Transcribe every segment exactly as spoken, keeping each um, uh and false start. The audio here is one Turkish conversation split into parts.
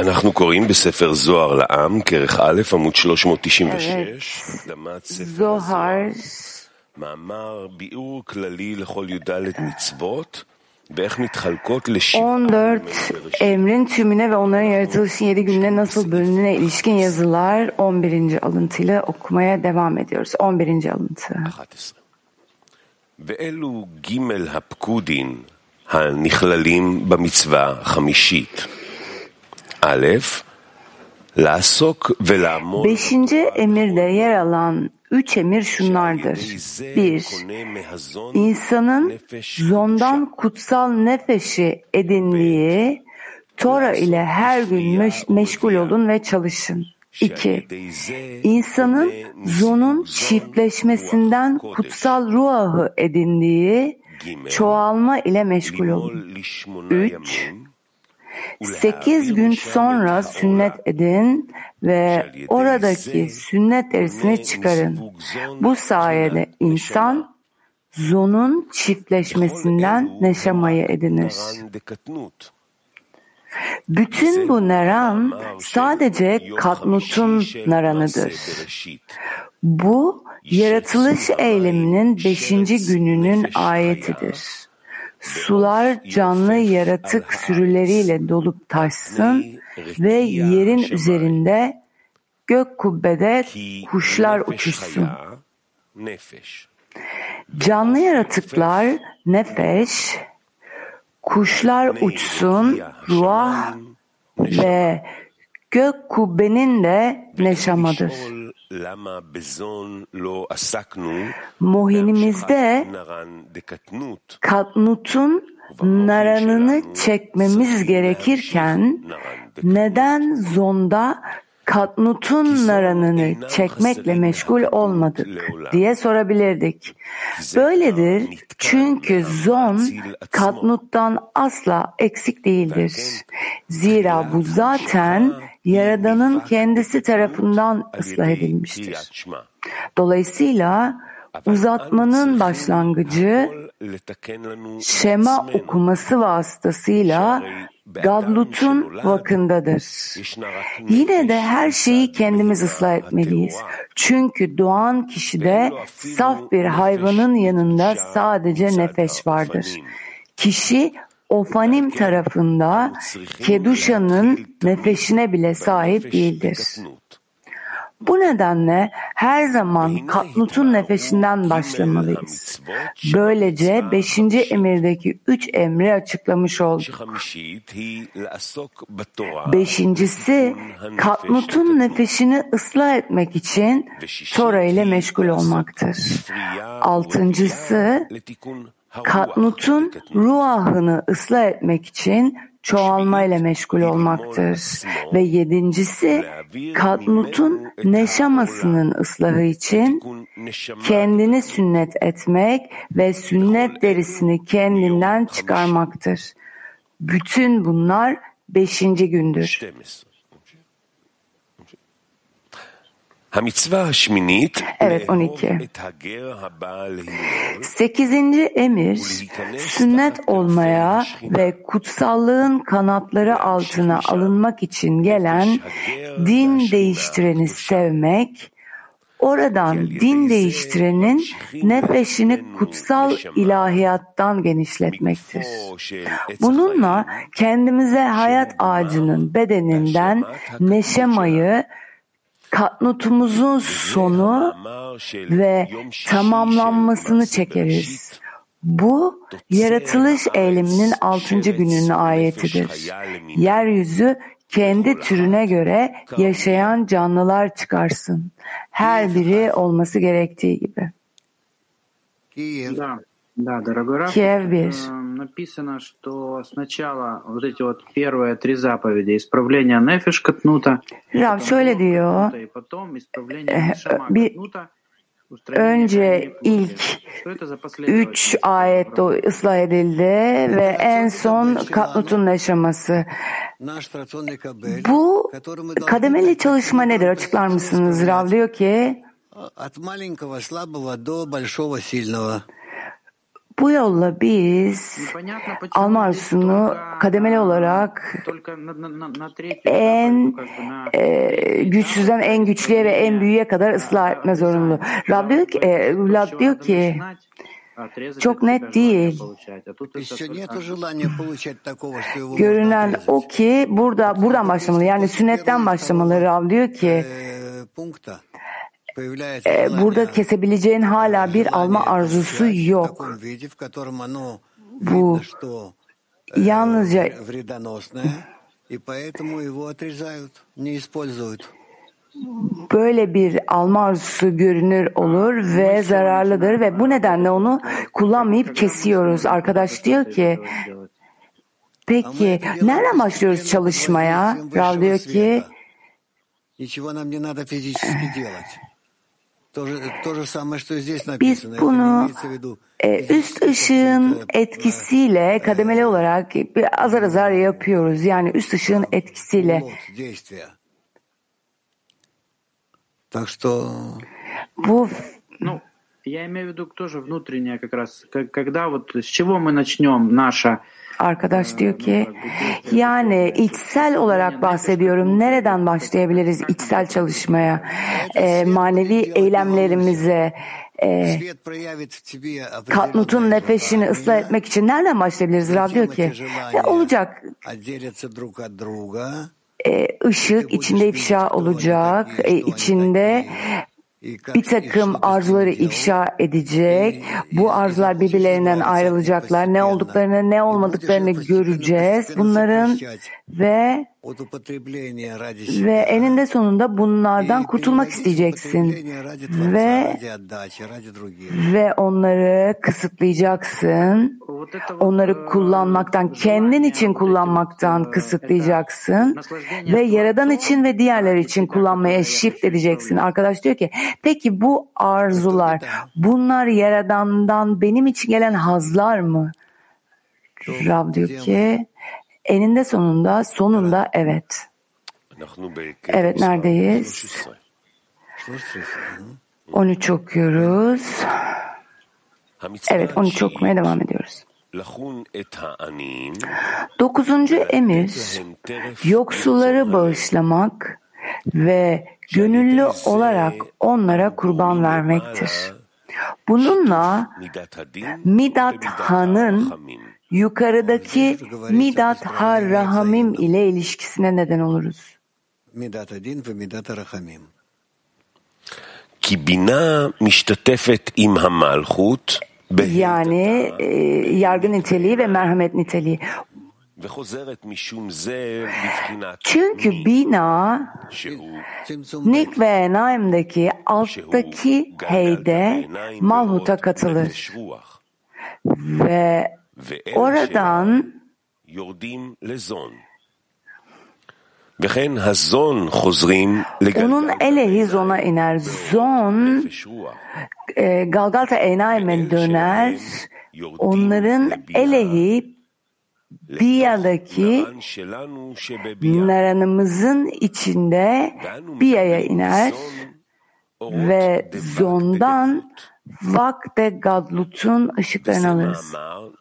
אנחנו קוראים בספר זוהר לעם, כרך א', עמוד שלוש מאות תשעים ושש, הקדמת ספר הזוהר, מאמר ביאור כללי לכל י"ד מצוות, ואיך מתחלקות לשבעה. on dört emrin tümüne ve onların yaratılışın yedi gününe nasıl bölündüğüne ilişkin yazılar on birinci alıntıyla okumaya devam ediyoruz. on birinci alıntı. ואלו ג' הפקודין הנכללים במצווה החמישית. א', לעסוק ולעמוד. Beşinci emirde yer alan üç emir şunlardır. Bir, insanın zondan kutsal nefeşi edindiği Tora ile her gün meş- meşgul olun ve çalışın. İki, insanın zonun çiftleşmesinden kutsal ruahı edindiği çoğalma ile meşgul olun. Üç, sekiz gün sonra sünnet edin ve oradaki sünnet derisini çıkarın. Bu sayede insan zonun çiftleşmesinden neşamayı edinir. Bütün bu naran sadece Katnut'un naranıdır. Bu yaratılış eyleminin beşinci gününün ayetidir. Sular canlı yaratık sürüleriyle dolup taşsın ve yerin üzerinde gök kubbede kuşlar uçuşsun. Canlı yaratıklar nefeş, kuşlar uçsun, ruah ve gök kubbenin de neşamadır. Mohinimizde Katnut'un naranını çekmemiz gerekirken neden zonda Katnut'un naranını çekmekle meşgul olmadık diye sorabilirdik. Böyledir çünkü zon Katnut'tan asla eksik değildir. Zira bu zaten Yaradan'ın kendisi tarafından ıslah edilmiştir. Dolayısıyla uzatmanın başlangıcı Şema okuması vasıtasıyla Gadlut'un vakındadır. Yine de her şeyi kendimiz ıslah etmeliyiz. Çünkü doğan kişide saf bir hayvanın yanında sadece nefes vardır. Kişi Ofanim tarafında Keduşa'nın nefesine bile sahip değildir. Bu nedenle her zaman Katnut'un nefesinden başlamalıyız. Böylece beşinci emirdeki üç emri açıklamış olduk. Beşincisi, Katnut'un nefesini ıslah etmek için Tora ile meşgul olmaktır. Altıncısı, Katnut'un ruahını ıslah etmek için çoğalma ile meşgul olmaktır. Ve yedincisi, Katnut'un neşamasının ıslahı için kendini sünnet etmek ve sünnet derisini kendinden çıkarmaktır. Bütün bunlar beşinci gündür. Evet, on iki. Sekizinci emir, sünnet olmaya ve kutsallığın kanatları altına alınmak için gelen din değiştireni sevmek, oradan din değiştirenin nefesini kutsal ilahiyattan genişletmektir. Bununla kendimize hayat ağacının bedeninden neşemayı, Katnutumuzun sonu ve tamamlanmasını çekeriz. Bu, yaratılış eyleminin altıncı gününün ayetidir. Yeryüzü kendi türüne göre yaşayan canlılar çıkarsın. Her biri olması gerektiği gibi. Да, дорогой Раф, написано, что сначала вот эти вот первые три заповеди исправление нефеш катнута, Rav şöyle diyor, bir, önce ilk üç ayet ıslah edildi ve en son Katnut'un neşaması. Bu kademeli çalışma nedir? Açıklar mısınız? Rav diyor ki, Bu yolla biz alma arzusunu kademeli olarak en e, güçsüzden en güçlüye ve en büyüğe kadar ıslah etme zorunlu. Rab diyor ki, e, Rab diyor ki çok net değil. Görünen o ki burada buradan başlamalı. Yani sünnetten başlamalı. Rab diyor ki e, burada kesebileceğin hala bir alma arzusu yok. Bu yalnızca böyle bir alma arzusu görünür olur ve zararlıdır ve bu nedenle onu kullanmayıp kesiyoruz. Arkadaş diyor ki peki nereden başlıyoruz çalışmaya? Rav diyor ki biz bunu e, üst ışığın etkisiyle kademeli olarak azar azar yapıyoruz. Yani üst ışığın etkisiyle. Bu я имею в виду тоже внутреннее как раз, когда вот с чего мы начнем наша. Arkadaş diyor ki yani içsel olarak bahsediyorum. Nereden başlayabiliriz içsel çalışmaya, e, manevi eylemlerimize, e, Katnut'un nefesini ıslah etmek için nereden başlayabiliriz? Rab diyor ki e, olacak. E, ışık içinde ifşa olacak, e, içinde bir takım arzuları ifşa edecek. Bu arzular birbirlerinden ayrılacaklar. Ne olduklarını, ne olmadıklarını göreceğiz. Bunların ve ve eninde sonunda bunlardan kurtulmak isteyeceksin. Ve ve onları kısıtlayacaksın. Onları kullanmaktan, kendin için kullanmaktan kısıtlayacaksın. Ve Yaradan için ve diğerleri için kullanmaya shift edeceksin. Arkadaş diyor ki peki bu arzular, bunlar Yaradan'dan benim için gelen hazlar mı? Rab diyor ki eninde sonunda, sonunda evet. Evet, neredeyiz? on üç okuyoruz. Evet, on üç okumaya devam ediyoruz. Dokuzuncu emir, yoksulları bağışlamak ve gönüllü olarak onlara kurban vermektir. Bununla Midat Ha'nın yukarıdaki Midat Ha-Rahamim ile ilişkisine neden oluruz. Yani e, yargı niteliği ve merhamet niteliği. Çünkü bina Nik ve Naim'deki alttaki heyde Malhut'a katılır ve oradan onun elehi zona iner. Zon e, Galgalta Enaim'e döner. Onların elehi Biya'daki naranımızın içinde Biya'ya iner ve zondan Vakte Gadlut'un ışıklarını alırız.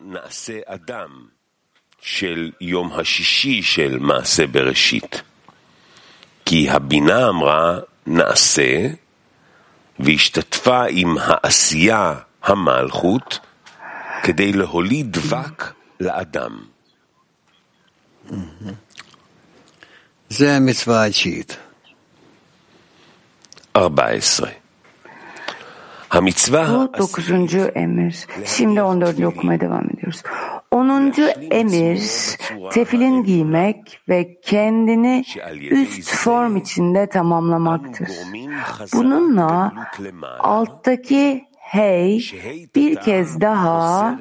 של יום השישי של מעשה בראשית. כי הבינה אמרה נעשה, והשתתפה עם העשייה המלכות, כדי להוליד דבק לאדם. זה המצווה התשיעית. ארבע עשרה. Bu dokuzuncu emir. Şimdi on dördüncü okumaya devam ediyoruz. Onuncu emir, tefilin giymek ve kendini üst form içinde tamamlamaktır. Bununla alttaki hey bir kez daha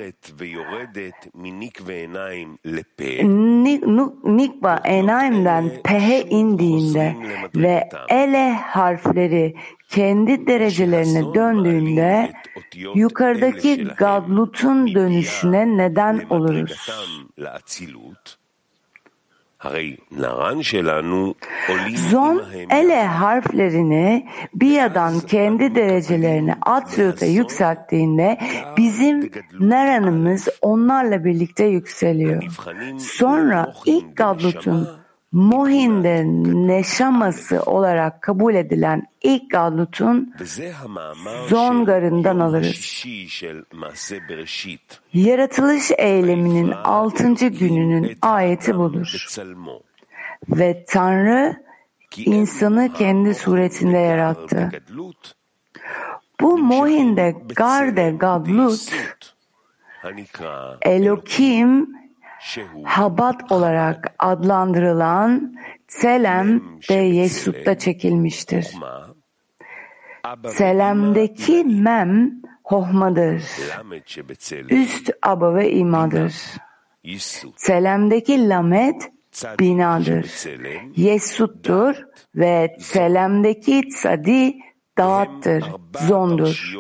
Nikva Enaim'den Pehe indiğinde ve Ele harfleri kendi derecelerine döndüğünde yukarıdaki Gadlut'un dönüşüne neden oluruz. Zon ele harflerini Biya'dan kendi derecelerini Atriyot'a yükselttiğinde bizim Naran'ımız onlarla birlikte yükseliyor. Sonra ilk Gadlut'un Mohin'de neşaması olarak kabul edilen ilk Gadlut'un Zongar'ından alırız. Yaratılış eyleminin altıncı gününün ayeti budur. Ve Tanrı insanı kendi suretinde yarattı. Bu Mohin'de Garde Gadlut, Elokim Habat olarak adlandırılan Tselem de Yesut'ta çekilmiştir. Tselem'deki Mem Hohmadır. Üst aba ve imadır. Tselem'deki Lamet binadır. Yesut'tur ve Tselem'deki Tsadi dağıttır, zondur.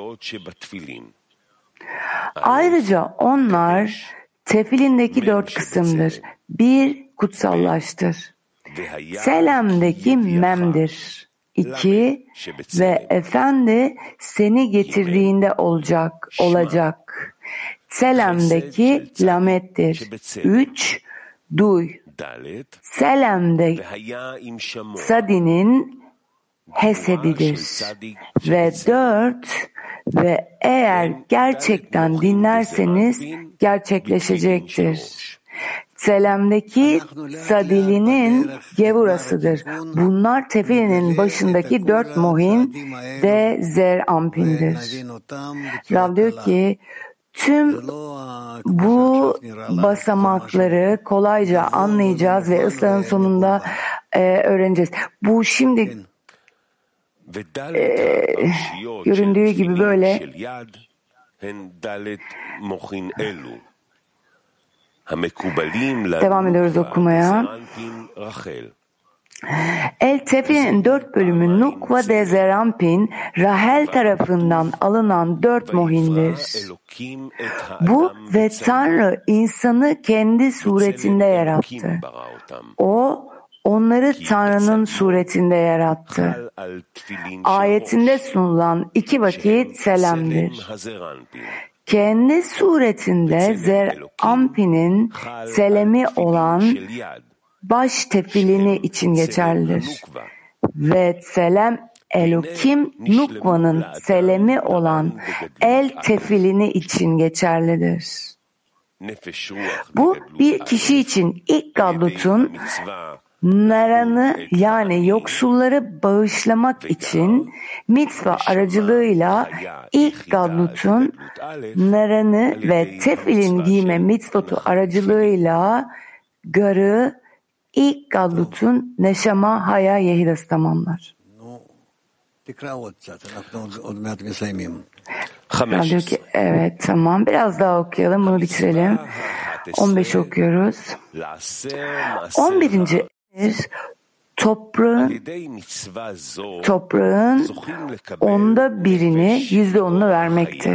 Ayrıca onlar Tefilindeki dört kısımdır. Bir, kutsallaştır. Selam'daki memdir. İki, ve efendi seni getirdiğinde olacak, olacak. Selam'daki lamettir. Üç, duy. Selam'de sadinin hesedidir. Ve dört, ve eğer gerçekten dinlerseniz gerçekleşecektir. Selam'daki sadilinin gevurasıdır. Bunlar tefilinin başındaki dört mohin de zer ampindir. Rav diyor ki tüm bu basamakları kolayca anlayacağız ve ıslahın sonunda e, öğreneceğiz. Bu şimdi e, göründüğü gibi böyle devam ediyoruz okumaya. El Tefil'in dört bölümü Nukva de Zerampin, Rahel tarafından alınan dört mohindir. Bu ve Tanrı insanı kendi suretinde yarattı. O, onları Tanrı'nın suretinde yarattı. Ayetinde sunulan iki vakit selamdır. Kendi suretinde Zer-Ampin'in selemi olan baş tefilini için geçerlidir. Ve selem Elokim Nukva'nın selemi olan el tefilini için geçerlidir. Bu bir kişi için ilk Gadlut'un Naran'ı yani yoksulları bağışlamak için mitva aracılığıyla ilk Gadlut'un Naran'ı ve tefilin giyme mitzvotu aracılığıyla garı ilk Gadlut'un neşama haya yehidası tamamlar. Ben diyor ki evet tamam biraz daha okuyalım bunu bitirelim. on beş okuyoruz. on birinci toprağın toprağın onda birini yüzde onunu vermektir.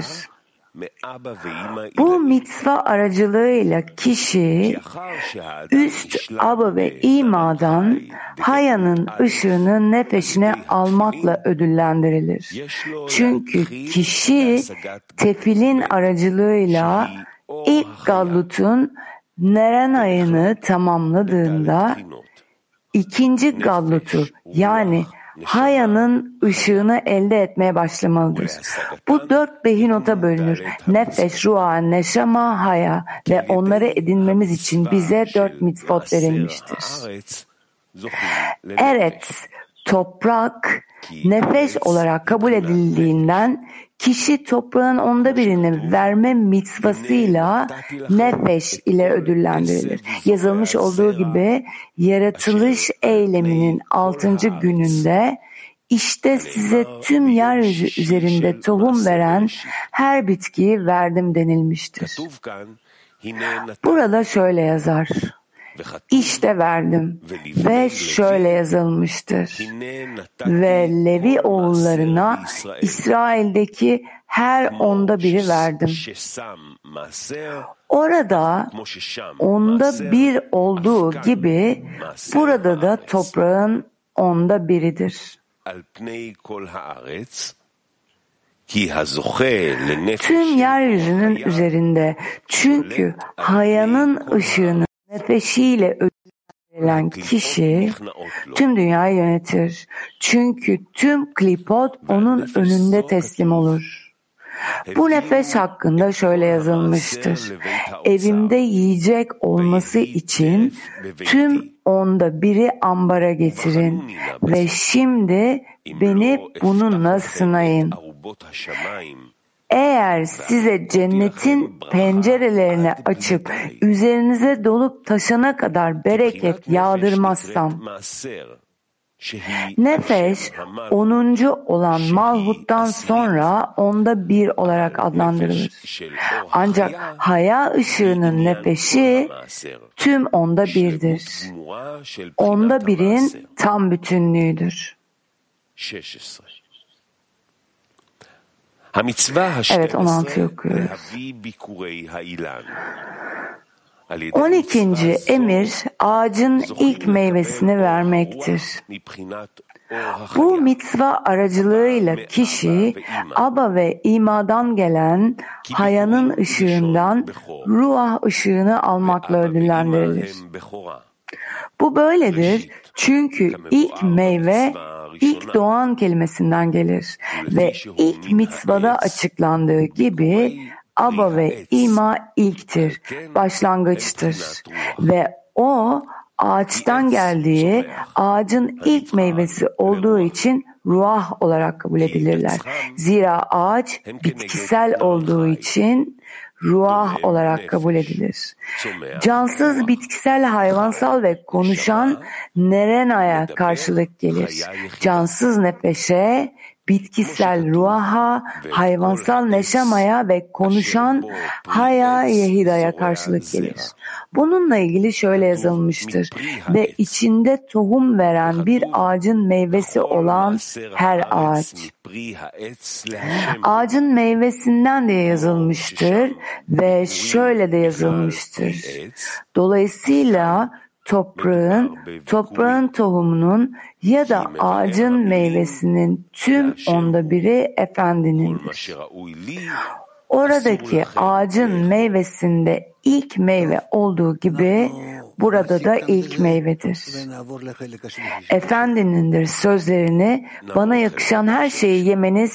Bu mitzva aracılığıyla kişi üst aba ve imadan hayanın ışığını nefesine almakla ödüllendirilir. Çünkü kişi tefilin aracılığıyla ilk Gadlut'un Neren ayını tamamladığında ikinci Gadlut'u yani hayanın ışığını elde etmeye başlamalıdır. Bu dört behinota bölünür. Nefeş, ruha, neşama, haya ve onları edinmemiz için bize dört mitzvot verilmiştir. Evet, toprak, nefeş olarak kabul edildiğinden kişi toprağın onda birini verme mitzvasıyla nefeş ile ödüllendirilir. Yazılmış olduğu gibi yaratılış eyleminin altıncı gününde işte size tüm yeryüzü üzerinde tohum veren her bitkiyi verdim denilmiştir. Burada şöyle yazar. İşte verdim ve şöyle yazılmıştır. Ve Levi oğullarına İsrail'deki her onda biri verdim. Orada onda bir olduğu gibi burada da toprağın onda biridir. Tüm yeryüzünün üzerinde, çünkü hayanın ışığını nefesiyle ödüllendirilen kişi tüm dünyayı yönetir. Çünkü tüm klipot onun önünde teslim olur. Bu nefes hakkında şöyle yazılmıştır. Evimde yiyecek olması için tüm onda biri ambara getirin ve şimdi beni bununla sınayın. Eğer size cennetin pencerelerini açıp üzerinize dolup taşana kadar bereket yağdırmazsam, nefes onuncu olan malhuttan sonra onda bir olarak adlandırılır. Ancak haya ışığının nefesi tüm onda birdir. Onda birin tam bütünlüğüdür. Evet, on altıyı okuyoruz. on ikinci emir ağacın ilk meyvesini vermektir. Bu mitzva aracılığıyla kişi Aba ve İma'dan gelen hayanın ışığından ruah ışığını almakla ödüllendirilir. Bu böyledir çünkü ilk meyve ilk doğan kelimesinden gelir ve ilk mitzvada açıklandığı gibi Aba ve İma ilktir, başlangıçtır ve o ağaçtan geldiği ağacın ilk meyvesi olduğu için ruah olarak kabul edilirler. Zira ağaç bitkisel olduğu için ruah olarak kabul edilir. Cansız, bitkisel, hayvansal ve konuşan nerenaya karşılık gelir. Cansız nefese, bitkisel ruaha, hayvansal neşamaya ve konuşan haya yehidaya karşılık gelir. Bununla ilgili şöyle yazılmıştır. Ve içinde tohum veren bir ağacın meyvesi olan her ağaç. Ağacın meyvesinden de yazılmıştır ve şöyle de yazılmıştır. Dolayısıyla toprağın, toprağın tohumunun ya da ağacın meyvesinin tüm onda biri Efendinindir. Oradaki ağacın meyvesinde ilk meyve olduğu gibi burada da ilk meyvedir. Efendinindir sözlerini bana yakışan her şeyi yemeniz